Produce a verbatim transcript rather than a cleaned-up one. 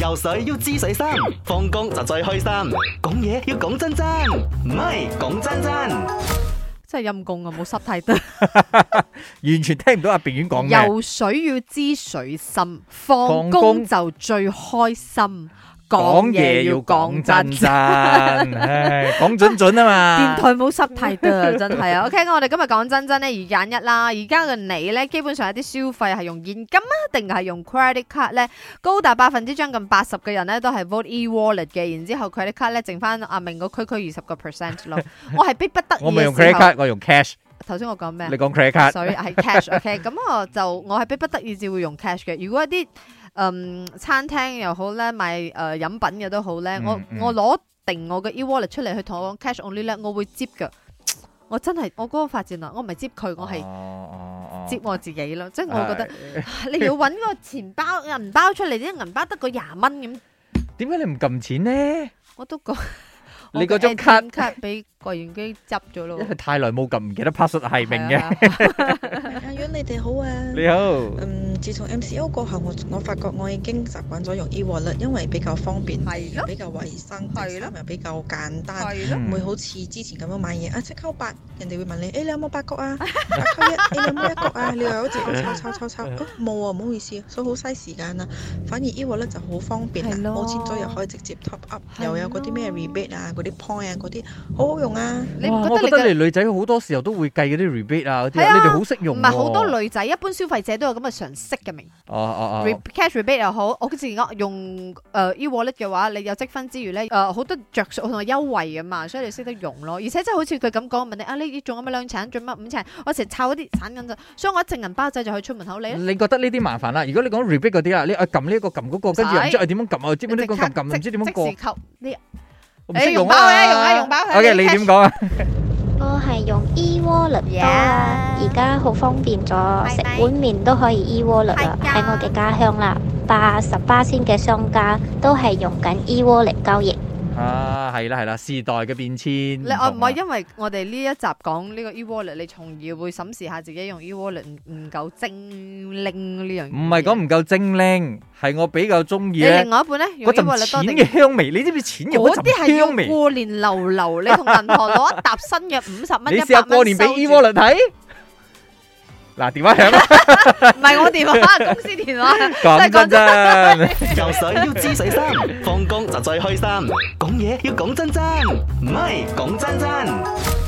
游水要知水深，放工就最開心。講嘢要講真真，唔係講真真。 真係陰公啊，冇濕太得。 完全聽唔到阿炳遠講咩。 游水要知水深，放工就最開心。講嘢要講真真， 唉，講準準啊嘛。 電台冇濕太得，真係啊。OK，我哋今日講真真咧，二揀一啦。而家嘅你咧，基本上有啲消費係用現金啊，定係用 credit card 咧？高達百分之將近八十嘅人咧，都係 vote e-wallet 嘅。然之後 credit card 咧，剩翻阿明個區區二十個 percent 咯。我係逼不得已嘅時候。 我咪用 credit card，我用 cash。 頭先我講咩？ 你講 credit card， 所以係 cash。OK，咁我就我係逼不得已至會用 cash 嘅。如果一啲嗯，餐廳又好咧，賣誒、呃、飲品嘅都好咧、嗯，我、嗯、我攞定我嘅 e-wallet 出嚟去同我講 cash only 咧，我會接噶。我真係我嗰個發展啊，我唔係接佢，我係接我自己咯。即、哦、係、哦、我覺得、哎、你要搵個錢包銀包出嚟，啲銀包得個廿蚊咁，點解你唔撳錢呢？ 我都講你嗰張卡卡俾櫃員機執咗咯， 因為太耐冇撳，唔記得 password 係明嘅。 阿遠你哋好啊， 你好。 嗯，自從 M C O 過後，我我發覺我已經習慣咗用 e-wallet， 因為比較方便， 係咯， 比較衛生，係咯，又比較簡單， 係咯， 唔會好似之前咁樣買嘢啊，即扣八，人哋會問你，誒、欸、你有冇八角啊？八扣一，誒你有冇一角啊？你又好似抄抄抄抄，冇啊，唔好意思，所以好嘥時間啊。反而 e-wallet 就好方便啦，冇錢咗又可以直接 top up， 又有嗰啲咩 rebate 啊，嗰啲 point 啊，嗰啲好好用啊。 你唔覺得我覺得你女仔好多時候都會計嗰啲 rebate 啊嗰啲，你哋好識用。 唔係好多女仔，一般消費者都有咁嘅常識嘅明。 哦哦哦。 cash rebate 又好，我好似我用誒 e-wallet 嘅話，你有積分之餘咧，誒好多着數同埋優惠噶嘛，所以你識得用咯。而且真係好似佢咁講，問你啊，你仲有乜兩層，仲有乜五層？我成日抄嗰啲散銀咋，所以我一隻銀包仔就可以出門口你。 你覺得呢啲麻煩啦？如果你講 rebate 嗰啲啦，你啊撳呢一個撳嗰個，跟住又唔知係點樣撳啊？知唔知呢個撳撳唔知點樣過？ 即時扣呢？ 我唔識用啊！用包嘅，用啊用包。 OK，你點講啊？ 我係用 e-wallet 多啦，而家好方便咗，食碗麵都可以 e-wallet 啦。喺我嘅家鄉啦，八十巴仙嘅商家都係用緊 e-wallet 交易。 啊，係啦係啦，時代嘅變遷。 你我唔係因為我哋呢一集講呢個 e-wallet， 你從而會審視下自己用 e-wallet 唔唔夠精靈呢樣嘢。 唔係講唔夠精靈，係我比較中意咧。 你另外一半咧，用 e-wallet 多定？ 嗰陣錢嘅香味，你知唔知錢有嗰陣香味？ 嗰啲係要過年流流，你同銀行攞一沓新嘅五十蚊、一百蚊收住。 你試下過年俾 e-wallet 睇。嗱，電話響啦， 唔係我電話，公司電話。 講真真， 游水要知水深，放工就最開心。講嘢要講真真，唔係講真真。